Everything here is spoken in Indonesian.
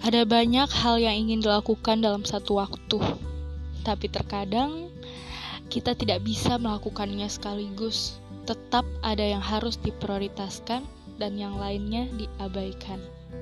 Ada banyak hal yang ingin dilakukan dalam satu waktu, tapi terkadang kita tidak bisa melakukannya sekaligus. Tetap ada yang harus diprioritaskan dan yang lainnya diabaikan.